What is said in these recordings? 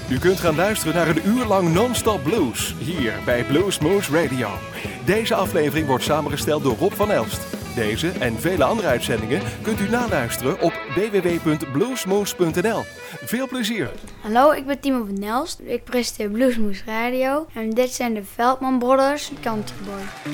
U kunt gaan luisteren naar een uur lang non-stop blues, hier bij Bluesmoose Radio. Deze aflevering wordt samengesteld door Rob van Elst. Deze en vele andere uitzendingen kunt u naluisteren op www.bluesmoose.nl. Veel plezier! Hallo, ik ben Timo van Elst. Ik presenteer Bluesmoose Radio. En dit zijn de Veldman Brothers, Country Boy.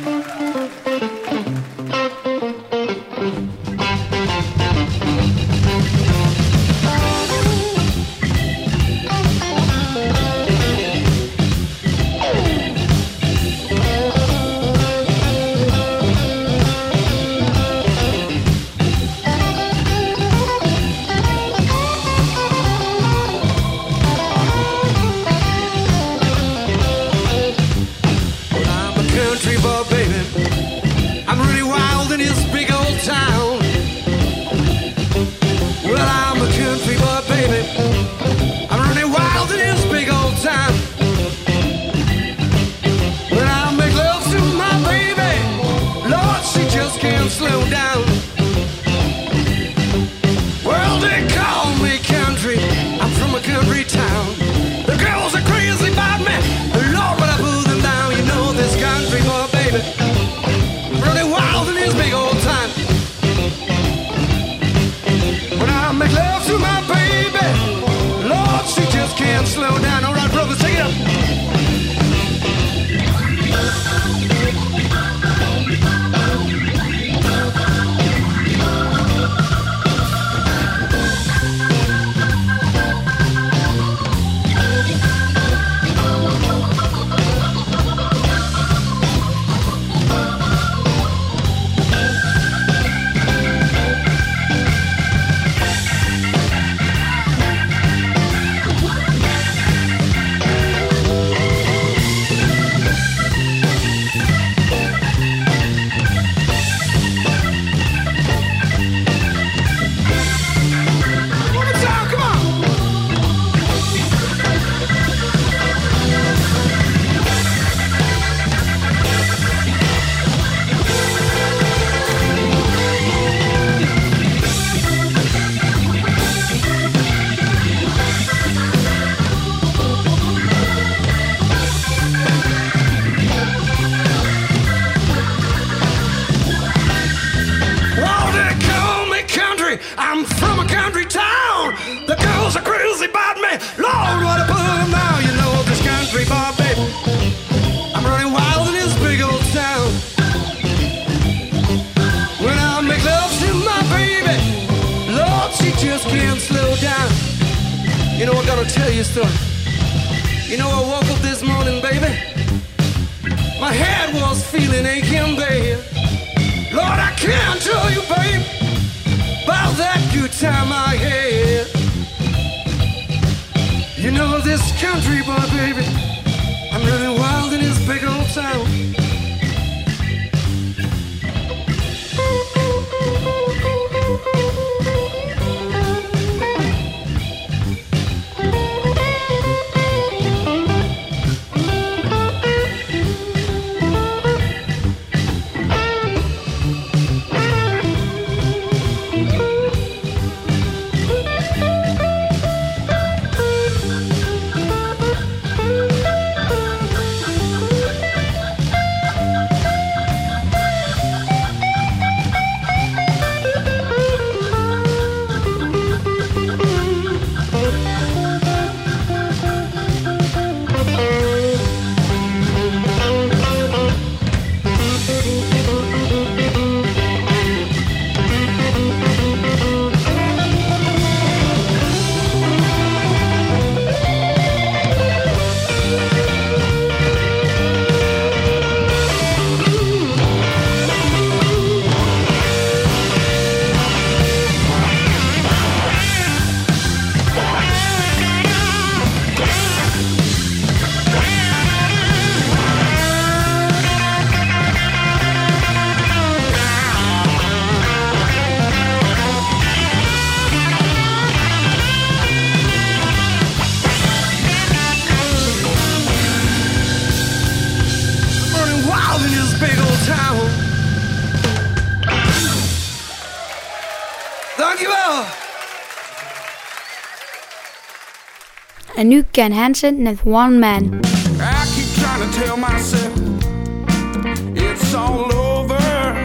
en nu Ken Hansen met One Man. I keep trying to tell myself it's all over.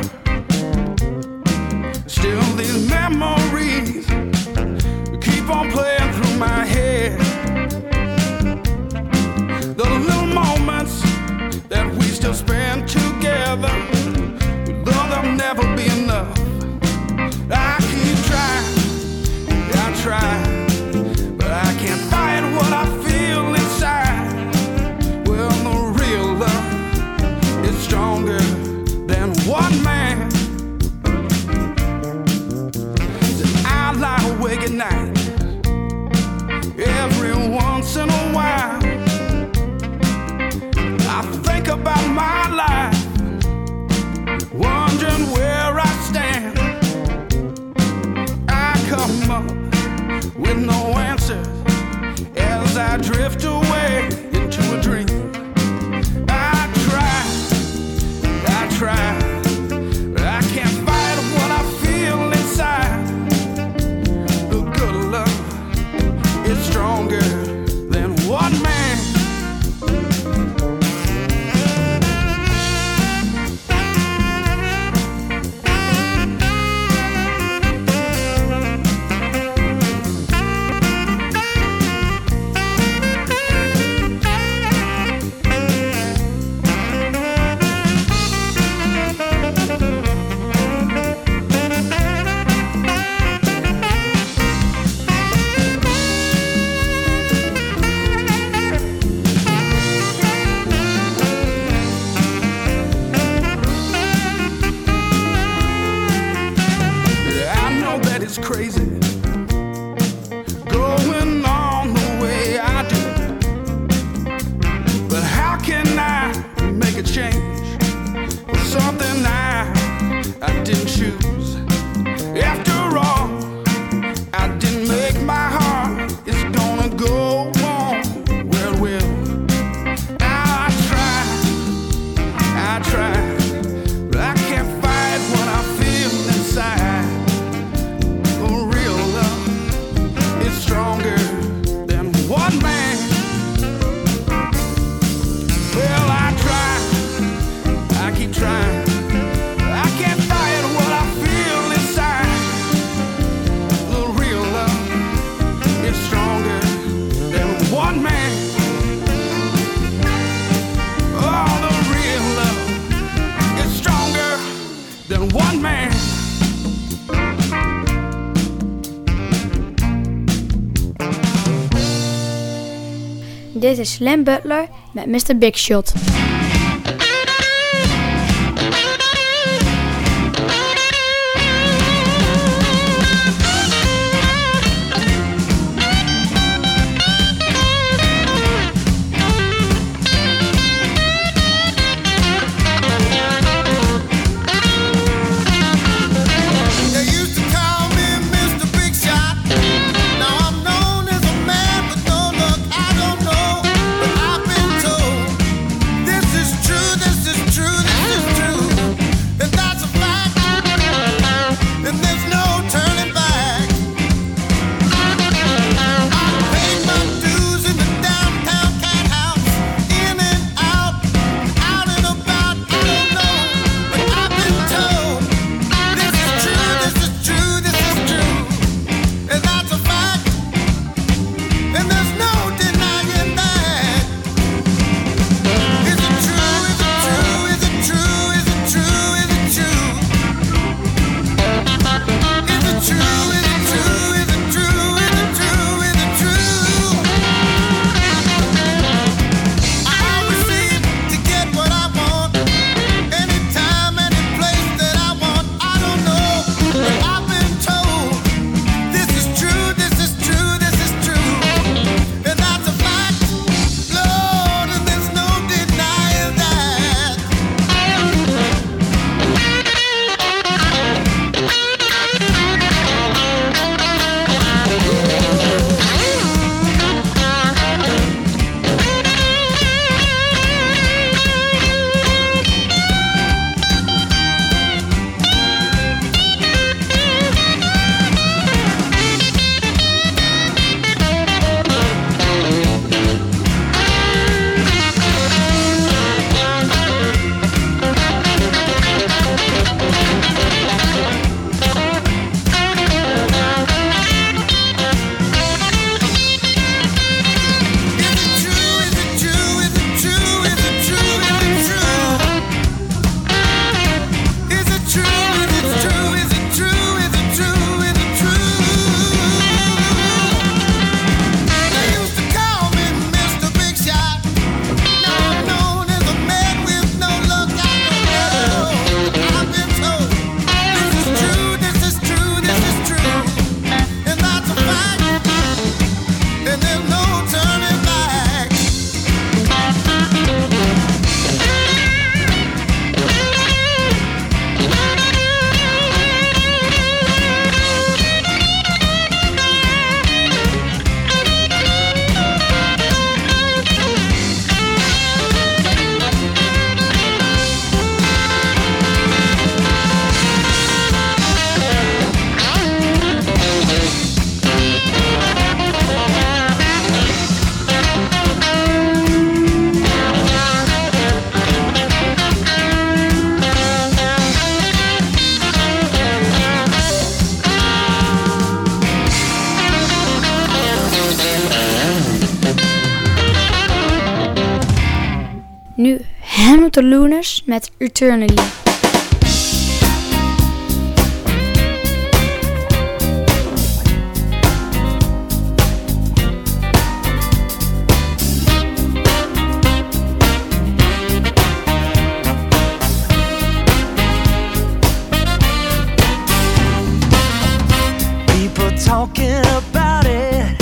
Still these memories keep on playing through my head. The little moments that we still spend together, though there'll never be enough. I keep trying, I try, but I can't fight what I feel inside. Well, the real love is stronger than one man. I lie awake at night every once in a while. I think about my life, wondering where I stand. I come up with no answers as I drift away into a dream. I try, but I can't fight what I feel inside. The good love is stronger than one man. It's crazy going on the way I do, but how can I make a change for something I didn't choose? After all, I didn't make my heart. It's gonna go on where it will. I try, but I can't fight what I feel inside. Stronger than one man. Well, I keep trying. I can't fight what I feel inside. The real love is stronger than one man. Oh, the real love is stronger than one man. Dit is Slim Butler met Mr. Big Shot. This Hamilton Lunas met Eternally. Talking about it,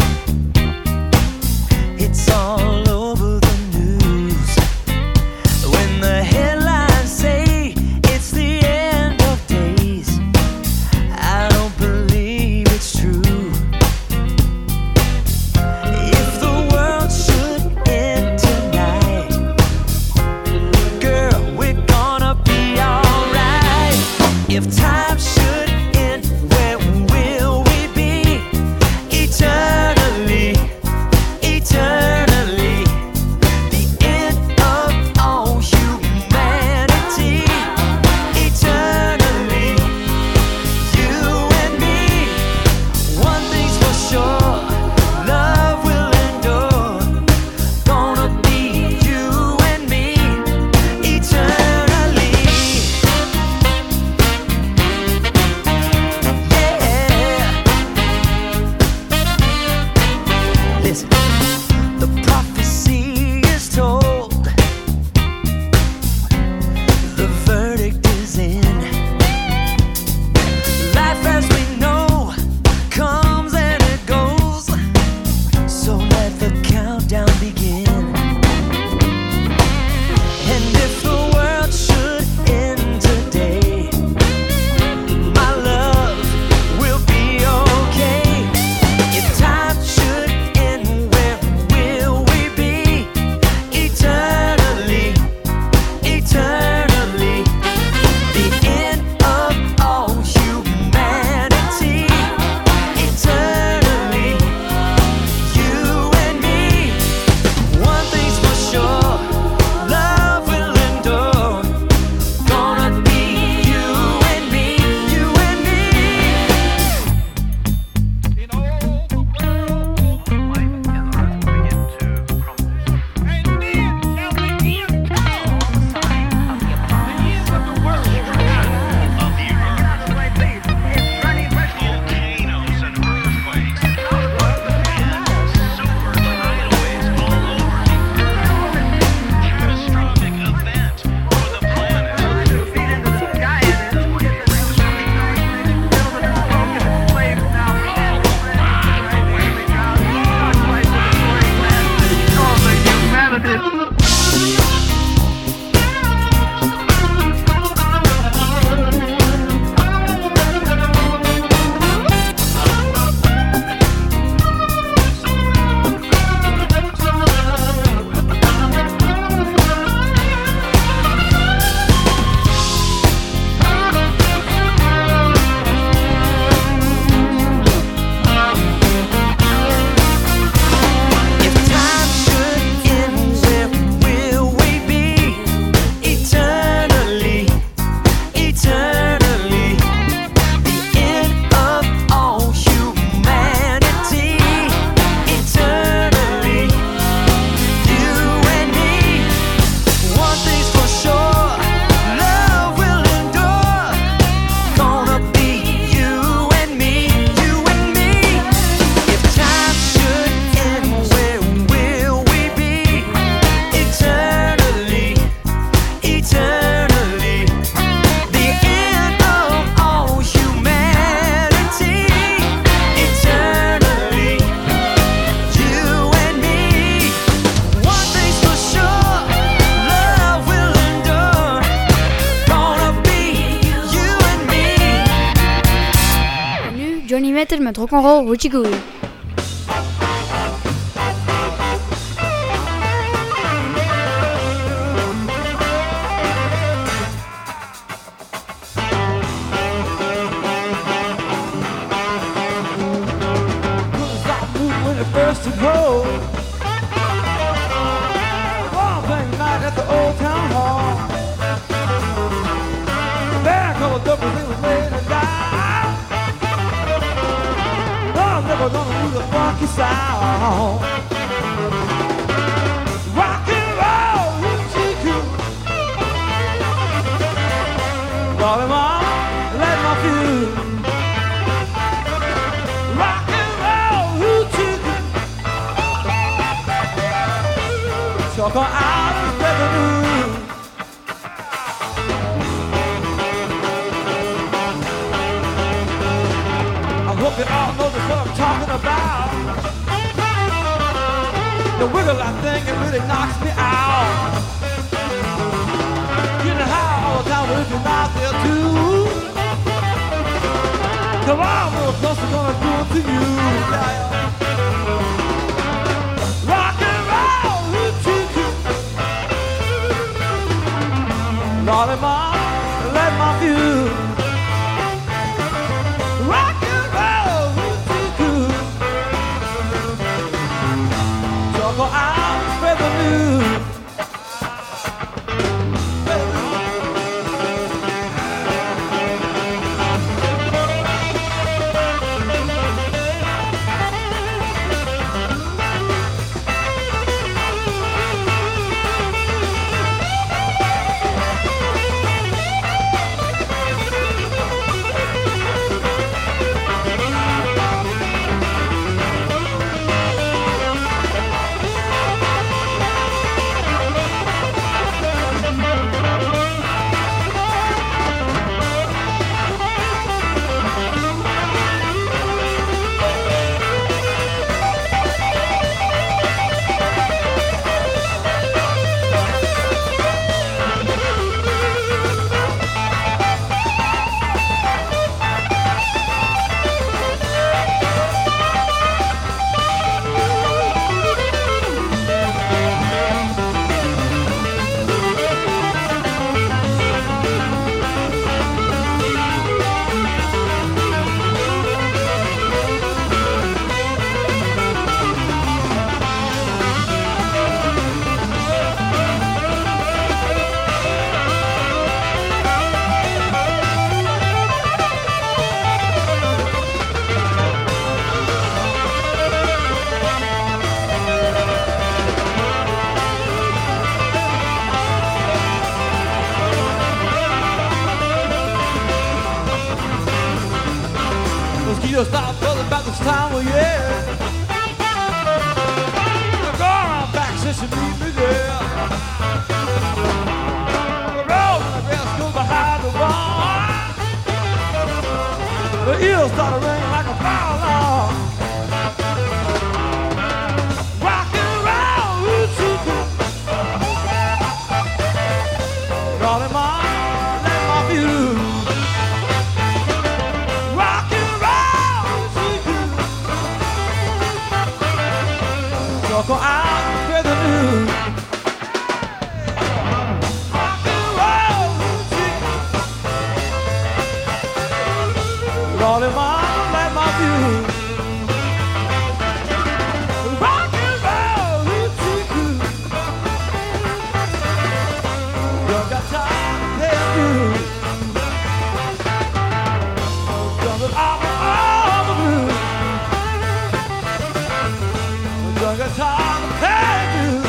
it's all over the news. When the headlines say it's the end of days, I don't believe it's true. If the world should end tonight, girl, we're gonna be alright. If time should end, where will we be? Eternally, eternally, the end of all humanity. Eternally, you and me. One thing's for sure, love will endure. Gonna be you and me. Eternally, yeah. Listen, the prophecy is told, the verdict is in. Life as we know comes and it goes, so let the countdown begin. And if the world should end today, my love will be okay. If time should end, where will we be? Eternally, eternally, the end of all humanity. Eternally, you and me. One thing's for sure, love will endure. Gonna be you and me, you and me. In all the world, life and the earth begin to crumble. And then shall the end come. The end of the world, of the earth. Volcanoes and earthquakes, and super tidal waves all over the earth. Catastrophic event for the planet. If time should end, where will we be? Eternally, eternally, the end of all humanity. Eternally, you and me. One thing's for sure, love will endure. Gonna be you and me, you and me. If time should end, where will we be? Eternally, eternally, the end of all humanity. Eternally, you and me. One thing's for sure, love will endure. Gonna be you and me. En nu Johnny Metter met Rock'n'Roll Hoochie Coochie. When it first took hold, one thing night at the old town hall, there colored everything was laid to die. I'm never gonna lose a funky sound. Rock and roll, hoochie coo, Talk out and spread the news. I hope you all know the what I'm talking about. The wiggle that thing, it really knocks me out. Getting high all the time, but if you're not there too, come on, little close, we're gonna do it to you. Rock and roll, hoo-choo-choo. Lordy, Mom, let my view. Rock and roll, hoo-choo-choo. Go out and spread the news. Mosquitoes stop buzzing about this time of year. They're going on back since you meet me there. The road and the grass goes behind the barn. The eels start ringing like a fire alarm. Rock and roll, hoo-choo-choo. Rolling my, let my view. Go out and spread the news. Rock and roll, Lordy, Mama, let my view. Rock and roll, you got time to pay dues. Done it all the blues. Done got time to pay dues.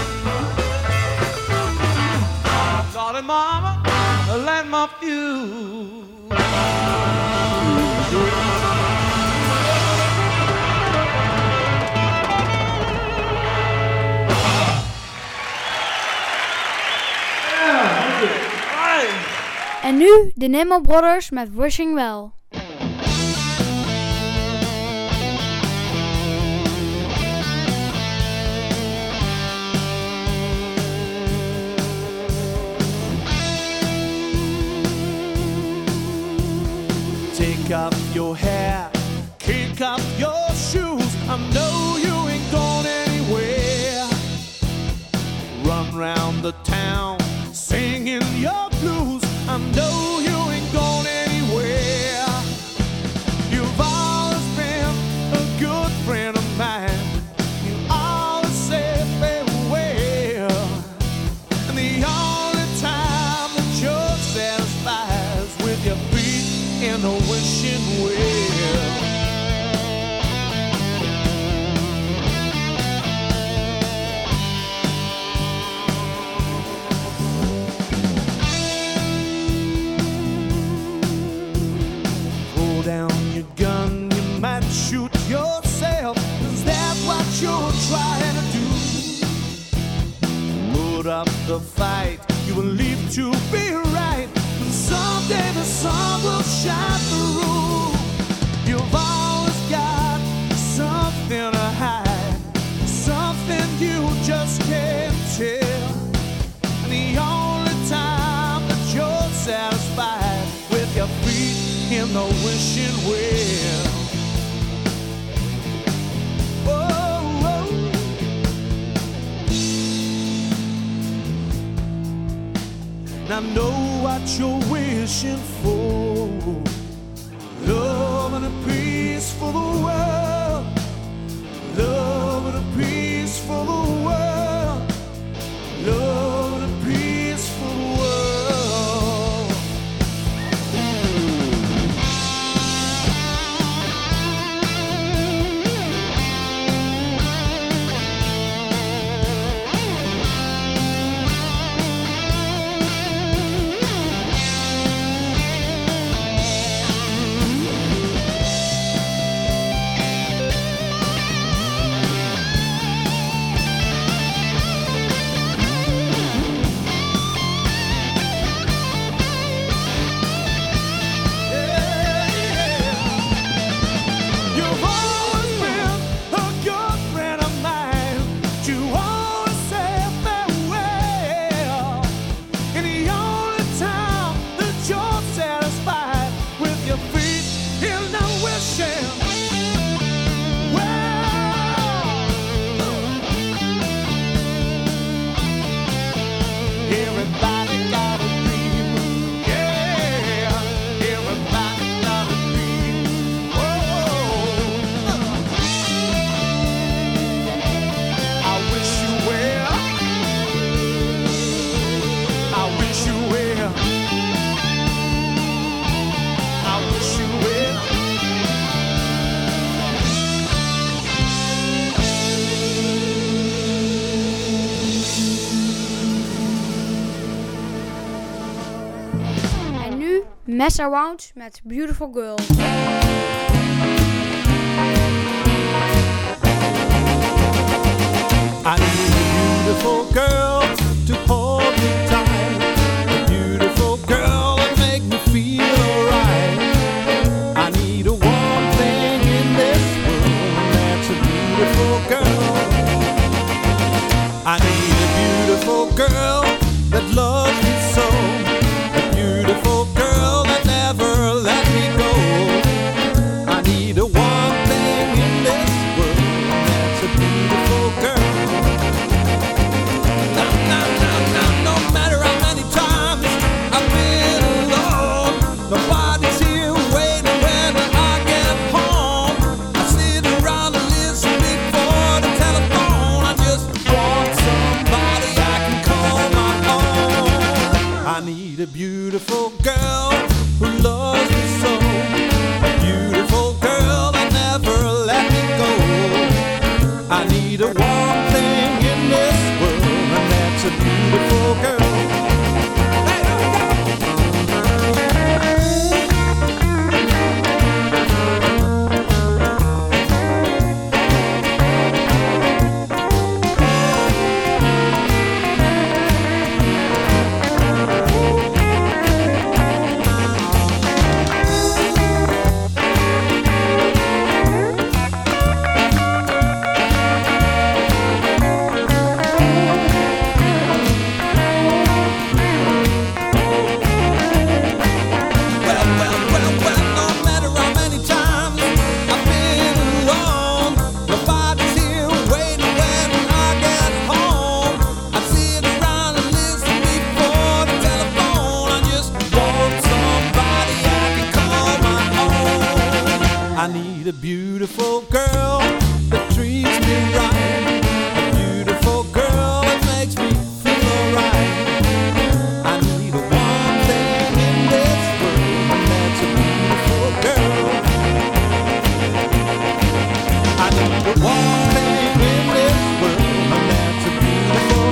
Darling Mama, let my view. En nu de Nimmo Brothers met Wishing Well. Take off your hat, kick off your shoes. I know you ain't going anywhere. Run round the town, singing your blues. I know you ain't going anywhere. You've always been a good friend of mine. You always said farewell. And the only time that you're satisfied is with your feet in a wishing well. Pull down your gun, you might shoot yourself. Is that what you're trying to do? up the fight. You believe to be right. Someday the sun will shine through. You've always got something to hide, something you just can't tell. And the only time that you're satisfied with your feet in the wishing well. Oh, oh. Now know what you're wishing for. Love and a peace for the world. Love and a peace for the world. Love and a peace for the world. You've always been a good friend of mine. You always say farewell. And the only time that you're satisfied with your feet in the wishing well. Everybody got a dream. Yeah, everybody got a dream. I wish you well. I wish you well. I wish you well. En nu Mess Around met Beautiful Girl. I need a beautiful girl to hold me tight. A beautiful girl that make me feel alright. I need a warm thing in this world that's a beautiful girl. I need a beautiful girl that loves me so. A beautiful girl that never let me go. I need a warm thing in this world that's a beautiful girl. No matter how many times I've been alone, nobody's here waiting when I get home. I sit around and listen before the telephone. I just want somebody I can call my own. I need a beautiful girl who loves me so. A beautiful girl that never let me go. I need a warm thing in this world, and that's a beautiful girl. I need a beautiful girl that treats me right. A beautiful girl that makes me feel alright. I need a warm thing in this world, and that's a beautiful girl. I need a warm thing in this world, and that's a beautiful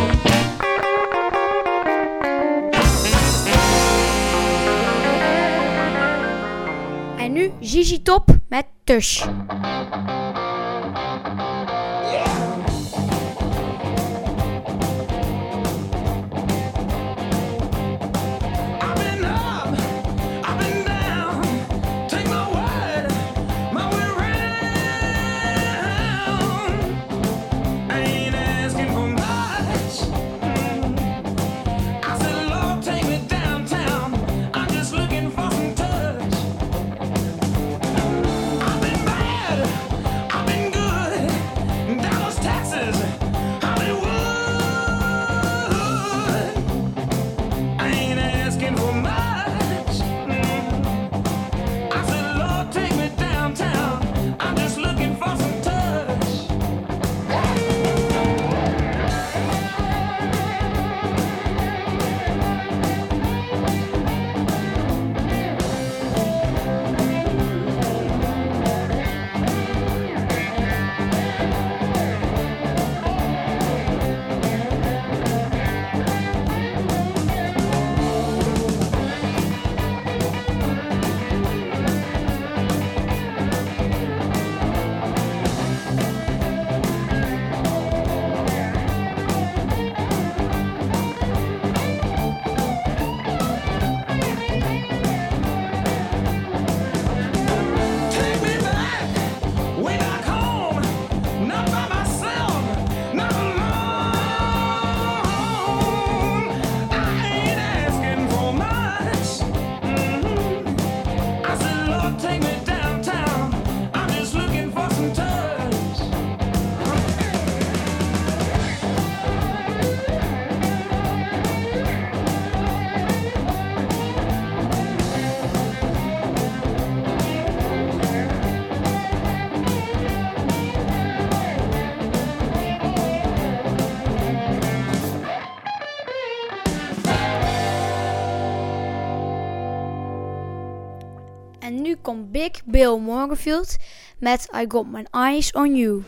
En nu ZZ Top met Tush. komt Big Bill Morganfield met I Got My Eyes On You.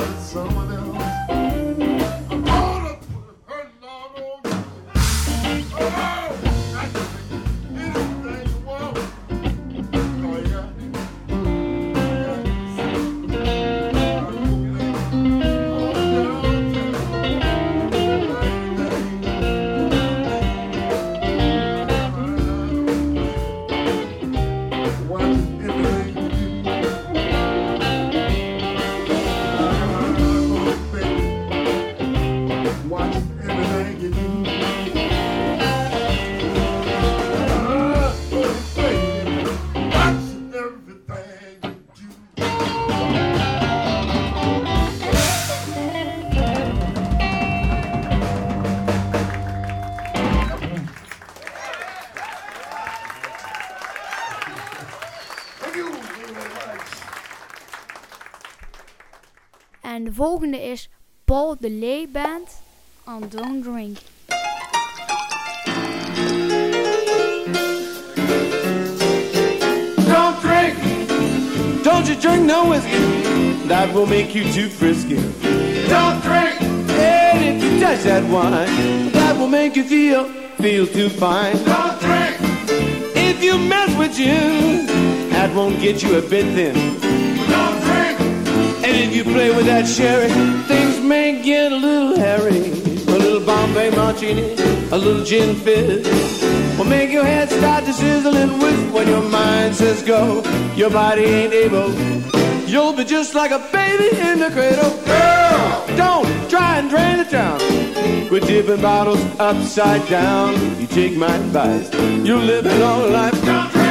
En de volgende is Paul de Leeuw Band on Don't Drink. Don't drink. Don't you drink no whiskey. That will make you too frisky. Don't drink. And if you touch that wine, that will make you feel too fine. Don't drink. If you mess with gin, that won't get you a bit thin. Don't drink. And if you play with that sherry, things may get a little hairy. A little Bombay Martini, a little gin fizz will make your head start to sizzle and whiz. When your mind says go, your body ain't able. You'll be just like a baby in the cradle. Girl, don't try and drain the town. Quit dipping bottles upside down. You take my advice, you'll live a long life. Don't drink.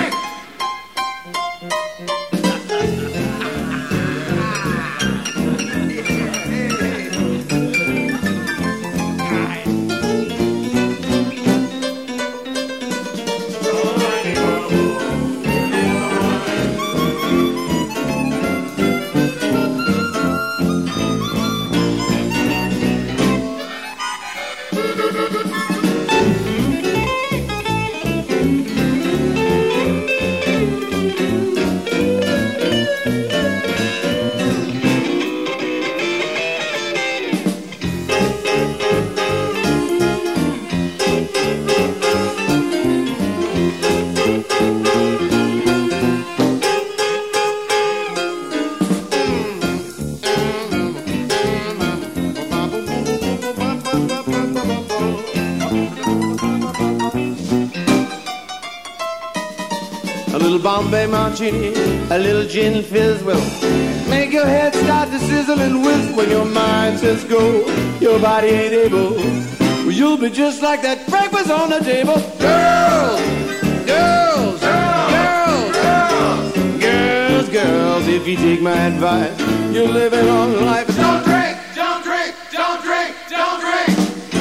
Bombay Martini, a little gin fizz will make your head start to sizzle and whiz. When your mind says go, your body ain't able. Well, you'll be just like that breakfast on the table. Girls, girls, girls, girls, girls, girls, if you take my advice, you'll live a long life. Don't drink, don't drink, don't drink, don't drink.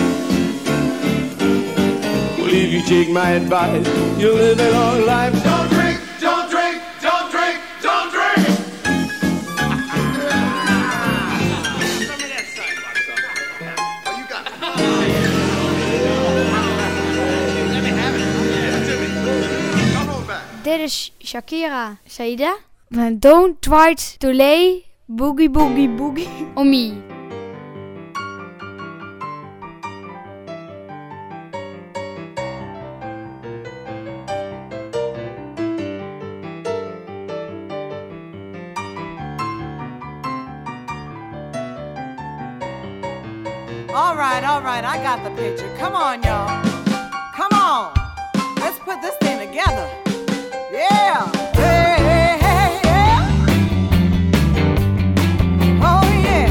Well, if you take my advice, you'll live a long life. Don't drink. Dit is Shakira Saida van Don't Try to Lay Boogie Boogie Boogie on Me. All right, I got the picture. Come on, y'all. Come on. Let's put this thing together. Yeah. Hey, hey, hey, yeah. Oh, yeah.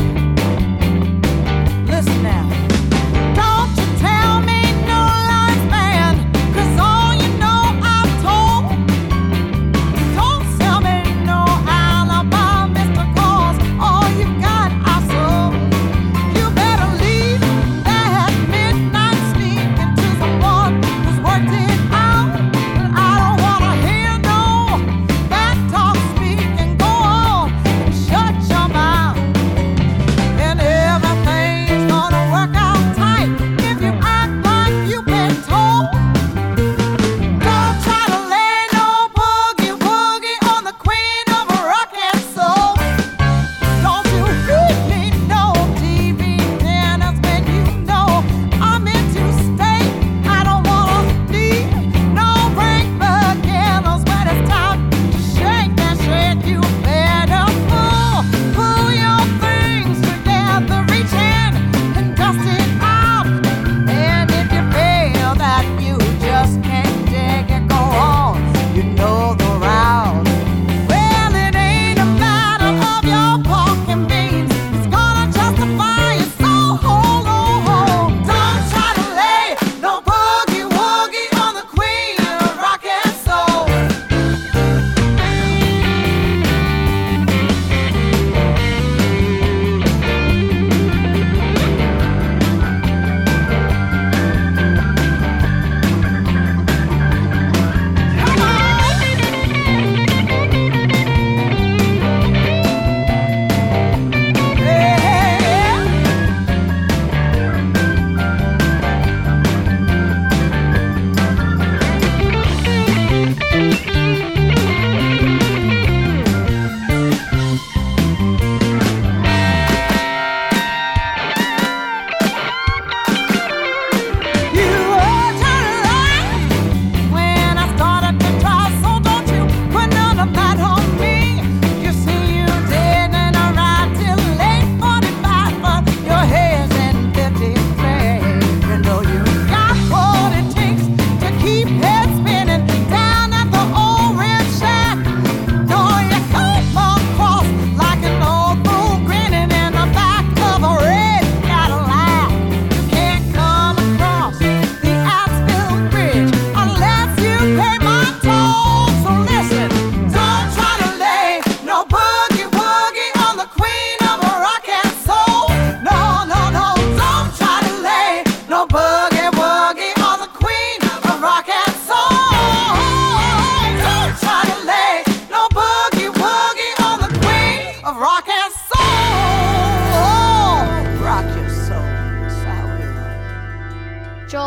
Listen now. Don't you tell me no lies, man, 'cause all you know I've told. Don't sell me no alibi, Mr. Cause all you got I sold. You better leave that midnight sneak into someone who's worked it out. I don't wanna hear no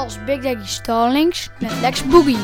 als Big Daddy Stallings met Lex Boogie.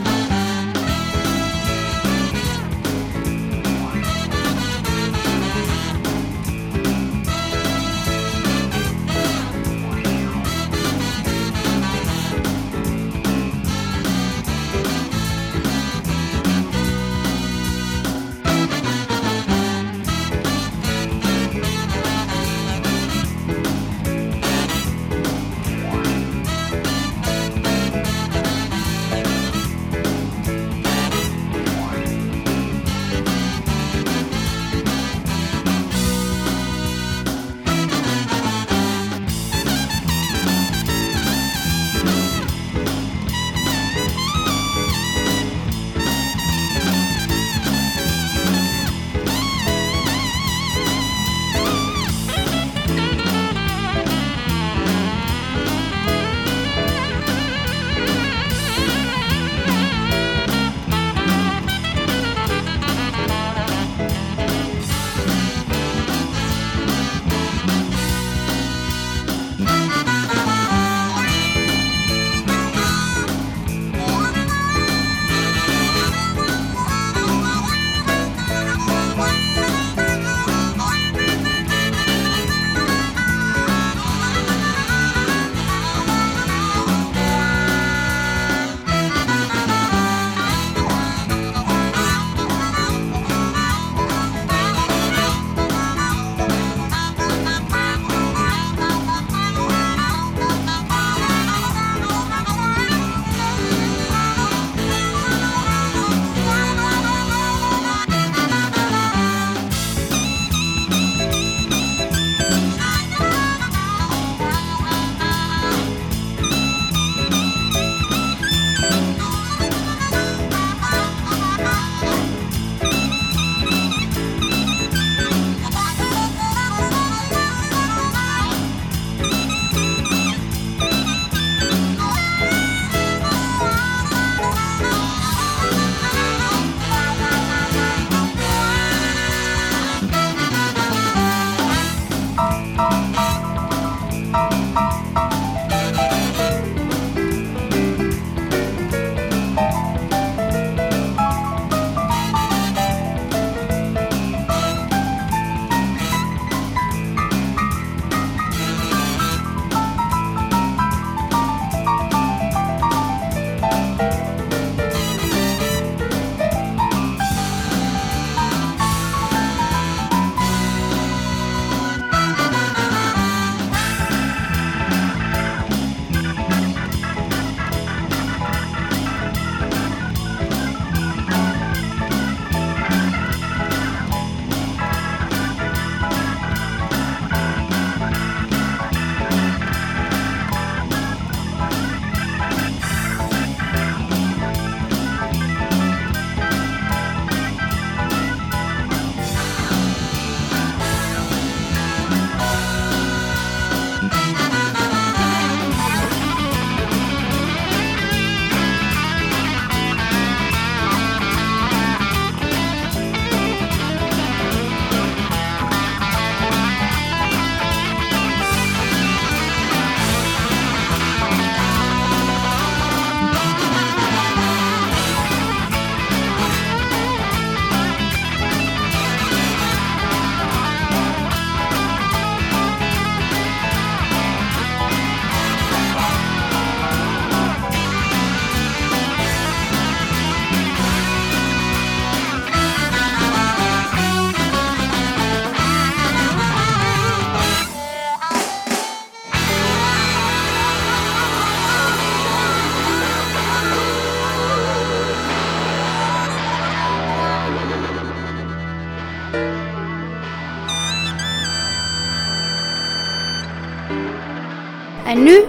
En nu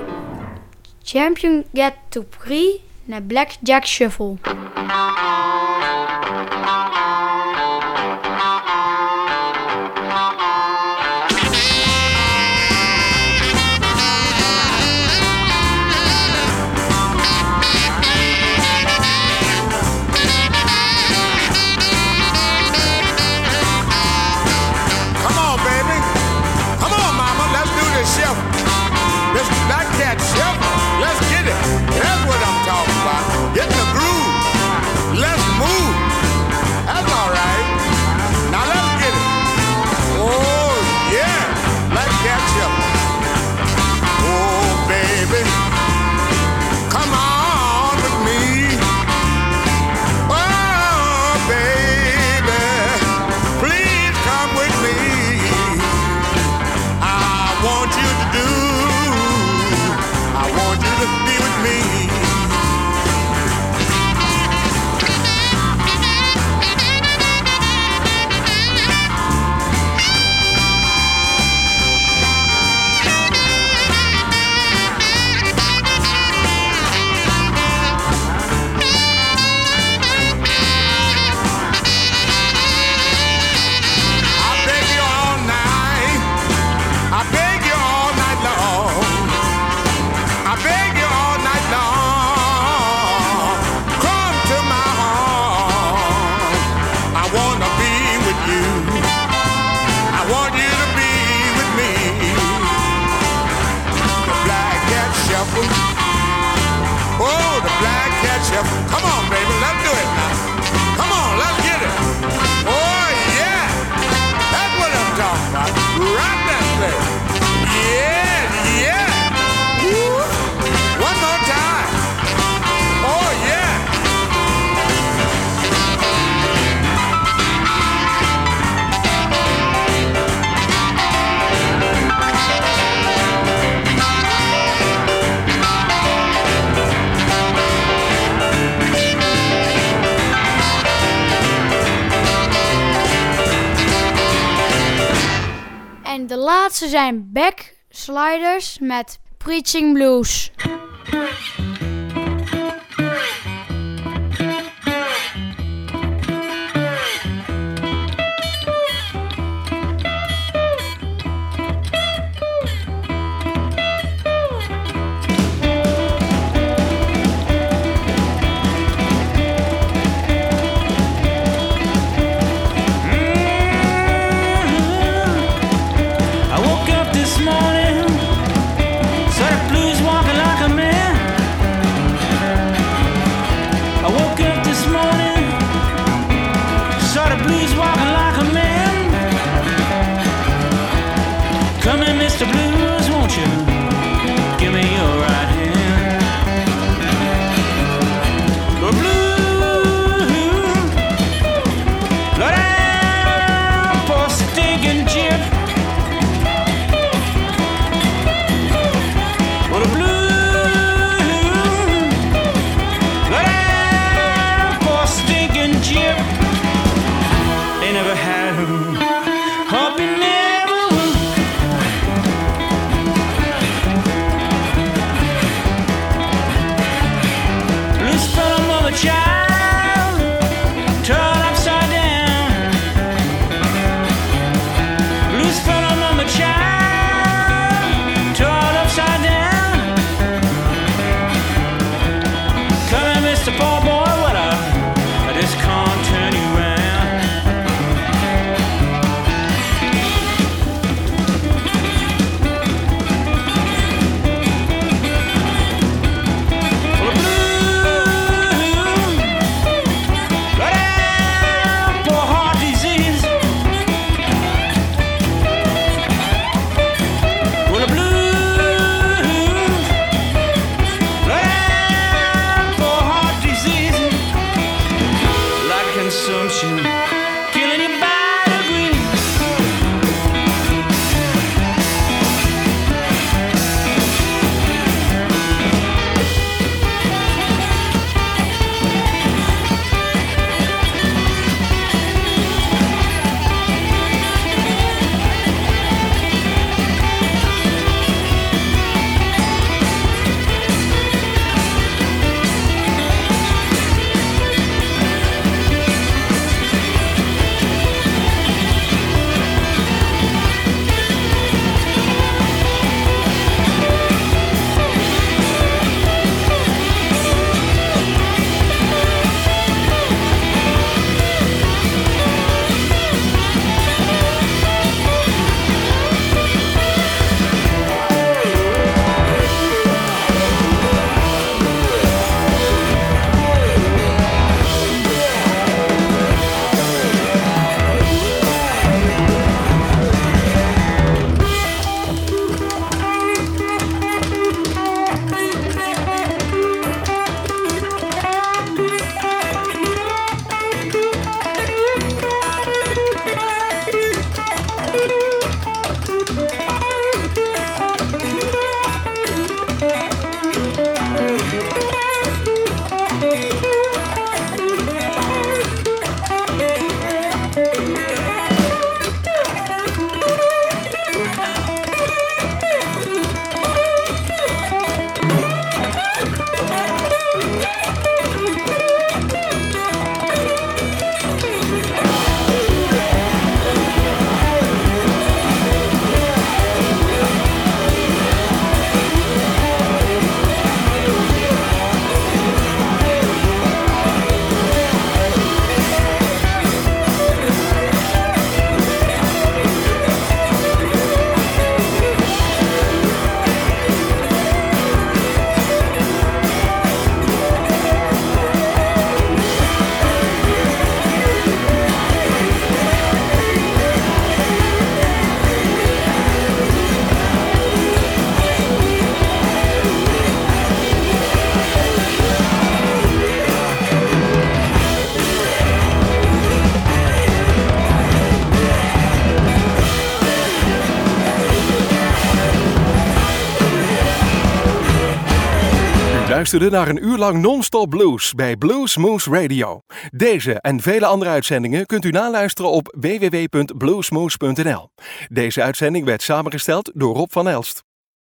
Champion Get to Prix naar Blackjack Shuffle. Black Cat Shuffle, let's get it. want you to do. I want you to be with me. Oh, the black cat shuffle. Come on, baby, let's do it now. Come on, let's get it. Oh, yeah. That's what I'm talking about. Rock that thing. Yeah, yeah. Woo. One more time. Oh, yeah. En de laatste zijn Backsliders met Preaching Blues. I woke up this morning, saw the blues walking like a man. luisterde naar een uur lang non-stop blues bij Blues Moose Radio. Deze en vele andere uitzendingen kunt u naluisteren op www.bluesmoose.nl. Deze uitzending werd samengesteld door Rob van Elst.